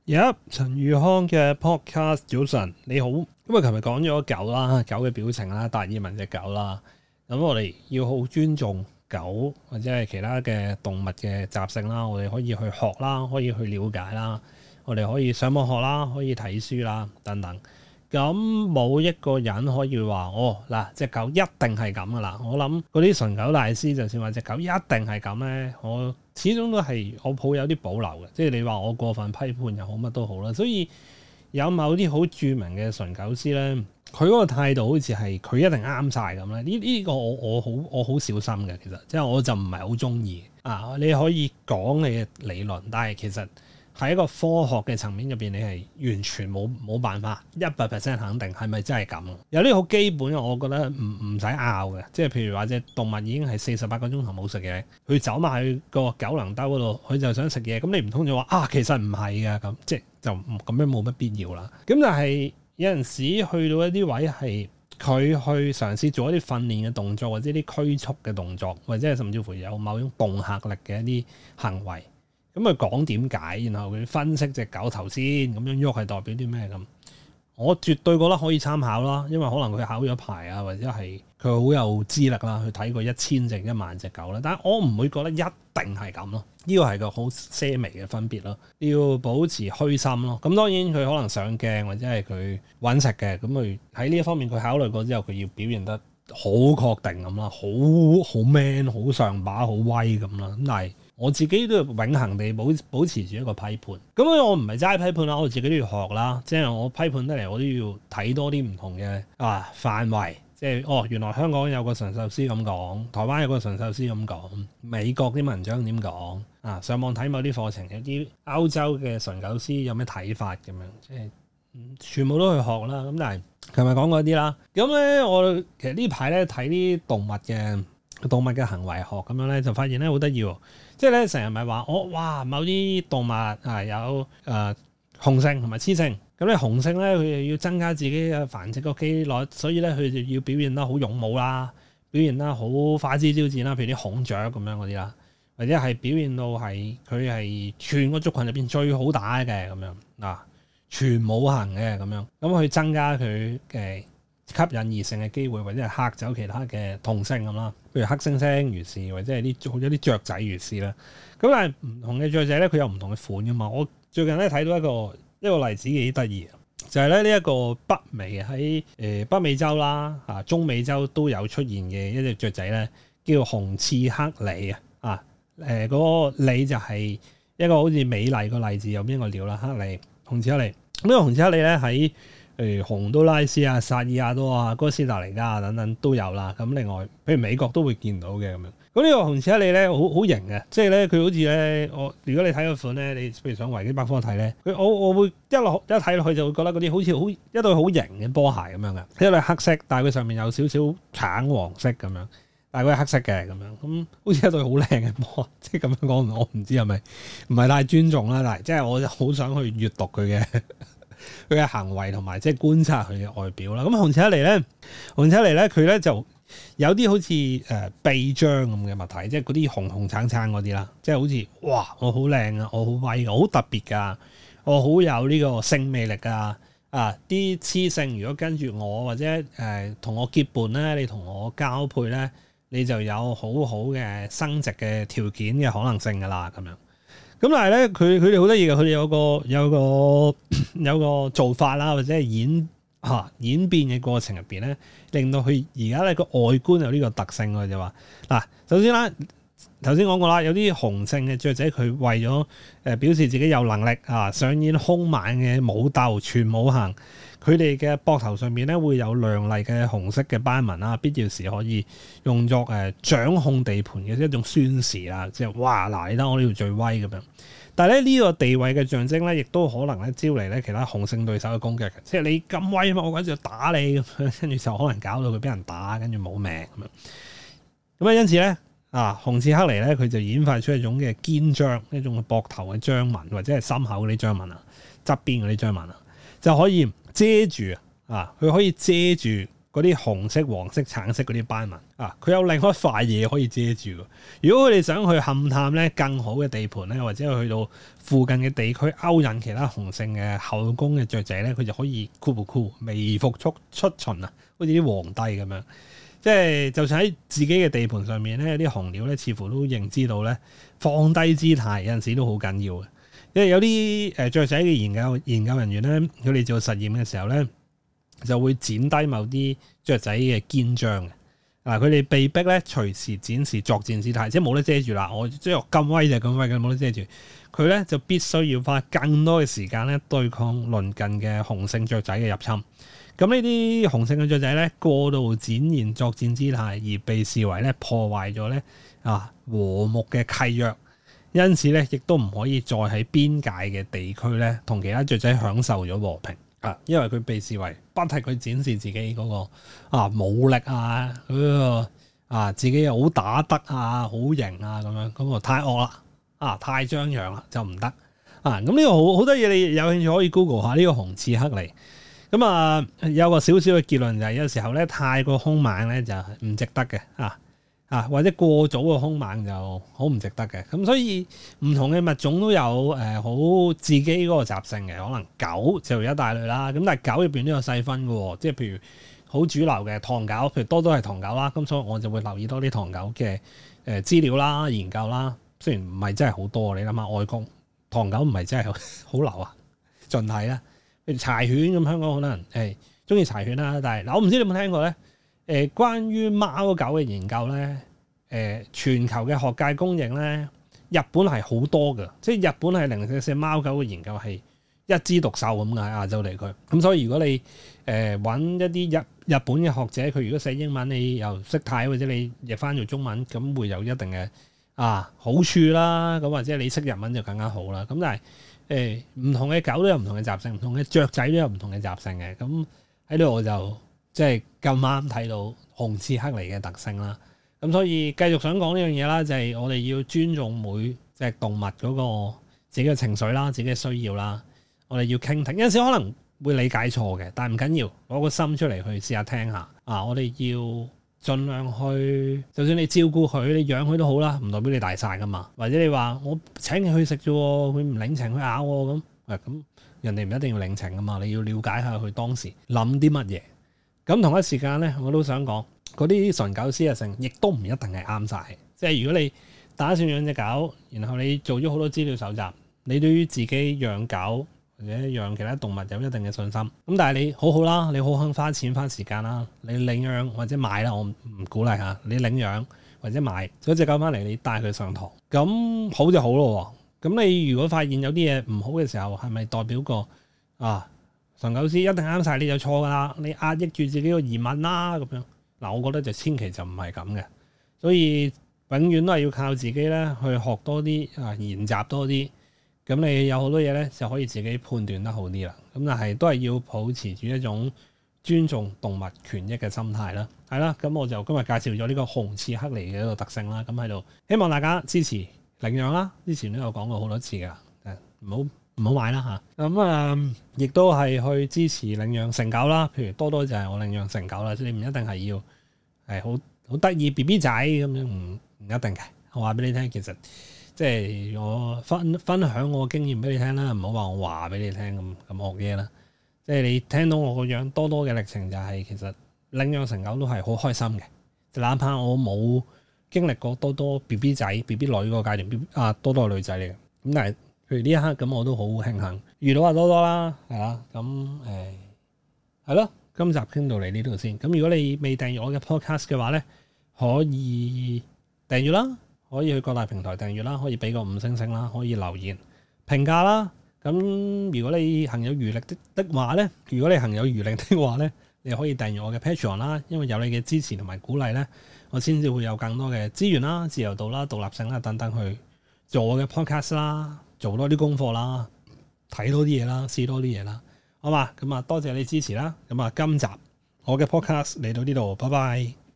陳宇康嘅 podcast 早晨，你好。咁啊，琴日講咗狗啦，狗嘅表情啦，達爾文隻狗啦。咁我哋要好尊重狗或者係其他嘅動物嘅習性啦。我哋可以去學啦，可以去了解啦。我哋可以上網學啦，可以睇書啦，等等。咁冇一個人可以話嗱，隻狗一定係咁噶啦。我諗嗰啲純狗大師，就算話隻狗一定係咁咧，我始終都係我抱有啲保留嘅。即係你話我過分批判又好，乜都好啦。所以有某啲好著名嘅純狗師咧，佢嗰個態度好似係佢一定啱晒咁咧。呢個我好小心嘅，其實即係我就唔係好中意啊。你可以講你嘅理論，但係其實喺一個科學嘅層面入邊，你係完全冇辦法100% 肯定係咪真係咁。有啲好基本嘅，我覺得唔使拗嘅。即係譬如話隻動物已經係48個鐘頭冇食嘢，佢走埋去個狗糧兜嗰度，佢就想食嘢。咁你唔通就話其實唔係㗎咁，即係就咁樣冇乜必要啦。咁但係有陣時去到一啲位係佢去嘗試做一啲訓練嘅動作，或者啲驅促嘅動作，或者係甚至乎有某種恫嚇力嘅一啲行為。咁佢講點解，然後佢分析隻狗頭先咁樣喐係代表啲咩咁？我絕對覺得可以參考啦，因為可能佢考咗牌啊，或者係佢好有資歷啦，去睇過1000隻1萬隻狗啦。但係我唔會覺得一定係咁咯，呢個係個好些微嘅分別咯。要保持虛心咯。咁當然佢可能上鏡或者係佢揾食嘅，咁佢喺呢一方面佢考慮過之後，佢要表現得好確定咁啦，好 man、好上把、好威咁啦。咁但係我自己都要永恆地保持住一個批判，咁我唔係齋批判啦，我自己都要學啦。即係我批判得嚟，我都要睇多啲唔同嘅範圍。即係原來香港有個馴獸師咁講，台灣有個馴獸師咁講，美國啲文章點講啊？上網睇某啲課程，有啲歐洲嘅馴狗師有咩睇法咁樣，即係全部都去學啦。咁但係琴日講嗰啲啦，咁咧我其實呢排咧睇啲動物嘅行為學咁樣咧，就發現咧好得意喎。即係咧，成日咪話某啲動物有雄性同埋雌性。咁咧雄性咧，佢又要增加自己嘅繁殖個機率，所以咧佢就要表現得好勇武啦，表現得好花枝招展啦，譬如啲孔雀咁樣嗰啲啦，或者係表現到係佢係全個族群入邊最好打嘅咁樣嗱，全武行嘅咁樣，咁去增加佢嘅吸引異性嘅機會，或者係嚇走其他嘅同性咁啦，譬如黑猩猩如是，或者係好多啲雀仔如是啦。咁但係唔同嘅雀仔咧，佢有唔同嘅款噶嘛。我最近咧睇到一個例子幾得意，就係咧呢一個北美喺北美洲啦中美洲都有出現嘅一隻雀仔咧，叫紅翅黑鸝啊。嗰個鸝就係一個好似美麗個麗字有邊個鳥啦，黑鸝紅翅黑鸝。呢個紅翅黑鸝咧喺洪都拉斯啊、薩爾瓦多啊、哥斯達黎加啊等等都有啦。咁另外，譬如美國都會見到嘅咁樣。咁呢個紅翅黑鸝咧，好型嘅，即係咧佢好似咧，如果你睇個款咧，你譬如上維基百科睇咧，我會一睇落去就會覺得嗰啲好似一對好型嘅波鞋咁樣嘅，一對黑色，但係佢上面有少少橙黃色咁樣，但係佢係黑色嘅咁樣，咁好似一對好靚嘅波，即係咁樣講，我唔知係咪唔係太尊重啦，但係即係我好想去閱讀佢嘅行為同埋即係觀察佢嘅外表啦。咁紅翅黑鸝咧，佢咧就有啲好似臂章咁嘅物體，即係嗰啲紅橙橙嗰啲啦，即係好似哇，我好靚啊，我好威㗎，我好特別㗎，我好有呢個性魅力㗎啲雌性如果跟住我或者同我結伴咧，你同我交配咧，你就有好好嘅生殖嘅條件嘅可能性㗎啦，咁樣。咁但係咧，佢哋好得意嘅，佢哋有個做法啦，或者係演變嘅過程入邊咧，令到佢而家咧個外觀有呢個特性。我就話嗱，首先啦，頭先講過啦，有啲雄性嘅雀仔，佢為咗表示自己有能力上演兇猛嘅武鬥全武行，佢哋嘅膊頭上面咧會有亮麗嘅紅色嘅斑紋啦，必要時可以用作掌控地盤嘅一種宣示啦，即係哇嗱，你睇我呢度最威咁樣。但係咧呢個地位嘅象徵咧，亦都可能咧招嚟咧其他雄性對手嘅攻擊嘅，即係你咁威嘛，我跟住打你咁樣，跟住就可能搞到佢俾人打，跟住冇命咁樣。咁因此咧紅翅黑鸝咧，佢就演化出一種嘅肩章，一種膊頭嘅章紋，或者係心口嗰啲章紋啊，側邊嗰啲章紋啊，就可以遮住佢可以遮住嗰啲紅色、黃色、橙色嗰啲斑紋啊，佢有另一塊嘢可以遮住。如果佢哋想去勘探咧更好嘅地盤咧，或者去到附近嘅地區勾引其他雄性嘅後宮嘅雀仔咧，佢就可以微服出巡啊，好似啲皇帝咁樣。即係就算喺自己嘅地盤上面咧，有啲雄鳥咧，似乎都認知到咧放低姿態有陣時都好緊要嘅。因為有啲雀仔嘅研究人員咧，佢哋做實驗嘅時候咧，就會剪低某啲雀仔嘅肩章嘅。佢哋被逼咧隨時展示作戰姿態，即係冇得遮住啦。我即係咁威就咁威嘅，冇得遮住。佢咧就必須要花更多嘅時間咧對抗鄰近嘅雄性雀仔嘅入侵。咁呢啲雄性嘅雀仔咧過度展現作戰姿態，而被視為咧破壞咗咧和睦嘅契約，因此咧亦都唔可以再喺邊界嘅地區咧同其他雀仔享受咗和平啊，因為佢被視為不停佢展示自己嗰個武力啊，嗰個自己又好打得啊，好型啊咁樣，咁啊太惡啦，太張揚啦就唔得啊。咁呢個好多嘢，你有興趣可以 Google 下呢個紅翅黑鸝。咁有個少少嘅結論就係有時候咧太過兇猛咧就唔值得嘅或者過早嘅兇猛就好唔值得嘅。咁所以唔同嘅物種都有好自己嗰個習性嘅。可能狗就一大類啦，咁但係狗入邊都有細分嘅，即係譬如好主流嘅唐狗，譬如多都係唐狗啦。咁所以我就會留意多啲唐狗嘅資料啦、研究啦。雖然唔係真係好多，你諗下外國唐狗唔係真係好流啊，盡係啦。譬如柴犬咁，香港好多人中意柴犬啦，但係我唔知你有冇聽過咧？關於貓狗嘅研究咧，全球嘅學界公認咧，日本係好多嘅，即係日本係零舍貓狗嘅研究係一枝獨秀咁嘅喺亞洲地區。咁所以如果你揾一啲日本嘅學者，佢如果寫英文你又識睇，或者你譯翻做中文，咁會有一定嘅好處啦。咁或者你識日文就更加好啦。咁但係唔同嘅狗都有唔同嘅習性，唔同嘅雀仔都有唔同嘅習性嘅。咁喺度我就即係咁啱睇到紅翅黑鸝嘅特性啦。咁所以繼續想講呢樣嘢啦，就係我哋要尊重每隻動物嗰個自己嘅情緒啦，自己嘅需要啦。我哋要傾聽，有陣時可能會理解錯嘅，但係唔緊要，攞個心出嚟去試下聽下。我哋要盡量去，就算你照顧佢，你養佢都好啦，唔代表你大晒噶嘛。或者你話我請佢去食啫，佢唔領情，佢咬我咁，咁人哋唔一定要領情噶嘛。你要了解下佢當時諗啲乜嘢。咁同一時間咧，我都想講嗰啲純狗師性，亦都唔一定係啱晒。即係如果你打算養隻狗，然後你做咗好多資料搜集，你對於自己養狗或者養其他動物有一定嘅信心，咁但係你好好啦，你好肯花錢花時間啦，你領養或者買啦，我唔鼓勵嚇，你領養或者買咗隻狗翻嚟，你帶佢上堂，咁好就好咯。咁你如果發現有啲嘢唔好嘅時候，係咪代表個純狗師一定啱晒你就錯噶啦？你壓抑住自己個疑問啦咁樣。嗱，我覺得就千祈就唔係咁嘅，所以永遠都係要靠自己咧去學多啲研習多啲。咁你有好多嘢咧就可以自己判斷得好啲啦。咁但係都係要保持住一種尊重動物權益嘅心態啦。係啦，咁我就今日介紹咗呢個紅翅黑鸝嘅一個特性啦。咁喺度希望大家支持領養啦。之前都有講過好多次噶，唔好買啦嚇。咁亦都係去支持領養成狗啦。譬如多多就係我領養成狗啦。即係你唔一定係要係好得意 BB 仔咁樣，唔一定嘅。我話俾你聽，其實。即係我分享我經驗俾你聽啦，唔好話我話俾你聽咁惡嘢啦。即係你聽到我個樣多多嘅歷程，就係其實領養成狗都係好開心嘅。就哪怕我冇經歷過多多 BB 仔 BB 女嗰個階段，多多係女仔嚟嘅。咁但係譬如呢一刻咁，我都好慶幸遇到阿多多啦，係啦。咁係咯，今集傾到嚟呢度先。咁如果你未訂閱我嘅 podcast 嘅話咧，可以訂閱啦。可以去各大平台訂閱啦，可以俾個5星啦，可以留言評價啦。咁如果你行有餘力的話咧，你可以訂閱我嘅 Patreon 啦。因為有你嘅支持同埋鼓勵咧，我先至會有更多嘅資源啦、自由度啦、獨立性啦等等去做我嘅 podcast 啦，做多啲功課啦，睇多啲嘢啦，試多啲嘢啦，好嘛？咁多謝你支持啦。咁今集我嘅 podcast 嚟到呢度，拜拜。